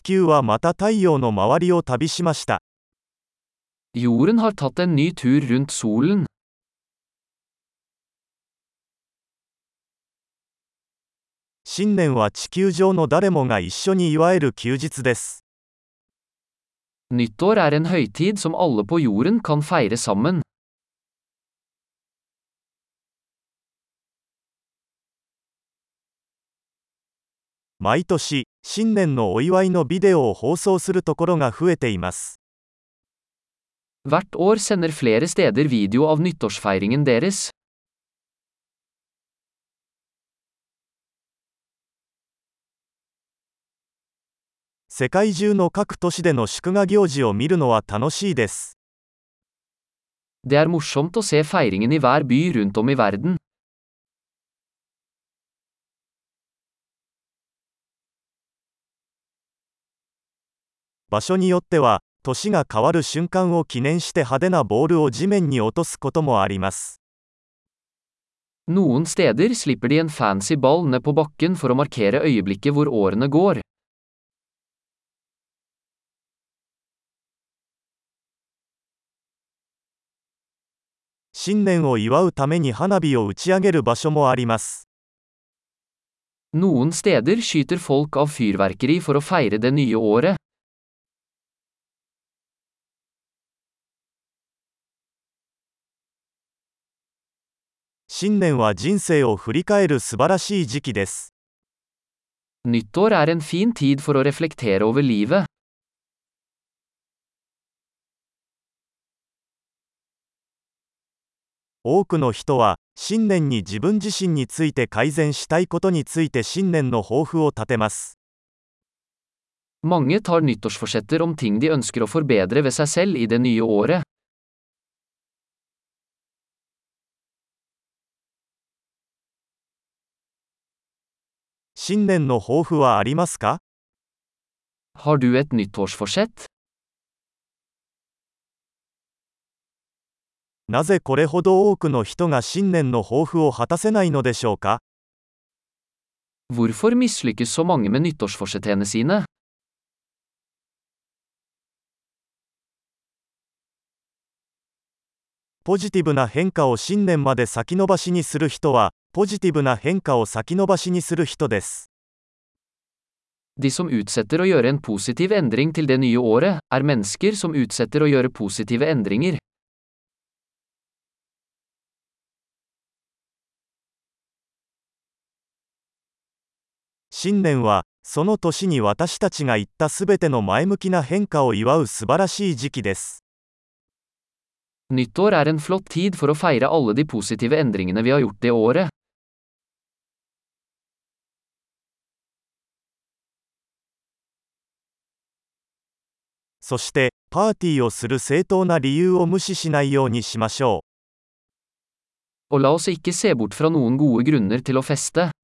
球はまた太陽の周りを旅しました。 Jorden har tatt en ny tur rundt solen. 新年は地球上の誰もが一緒に祝える休日です。 Nyttår er en høytid som alle på jorden kan feire sammen. 毎年、新年のお祝いのビデオを放送するところが増えています。 Hvert år sender flere steder video av nyttårsfeiringen deres. 世界中の各都市での祝賀行事を見るのは楽しいです。 Det er morsomt å se feiringen i hver by rundt om i verden. 場所によっては、年が変わる瞬間を記念して派手なボールを地面に落とすこともあります。 Noen steder slipper de en fancy ball ned på bakken for å markere øyeblikket hvor årene går. 新年を祝うために花火を打ち上げる場所もあります。 Noen steder skyter folk av fyrverkeri for å feire det nye året. 新年は人生を振り返る素晴らしい時期です。 Nyttår er en fin tid for å reflektere over livet. 多くの人は、新年に自分自身について改善したいことについて新年の抱負を立てます。 Mange tar nyttårsforsetter om ting de ønsker å forbedre ved seg selv i det nye året. 新年の抱負はありますか？ Har du et nyttårsforsett? なぜこれほど多くの人が新年の抱負を果たせないのでしょうか？ Hvorfor mislykkes så mange med nyttårsforsettene sine? ポジティブな変化を新年まで先延ばしにする人は、ポジティブな変化を先延ばしにする人です。 De som utsetter å gjøre en positiv endring til det nye året, er mennesker som utsetter å gjøre positive endringer. 新年は、その年に私たちが言ったすべての前向きな変化を祝う素晴らしい時期です。 Nyttår er en flott tid for å feire alle de positive endringene vi har gjort det året. そして、パーティーをする正当な理由を無視しないようにしましょう。 Og la oss ikke se bort fra noen gode grunner til å feste.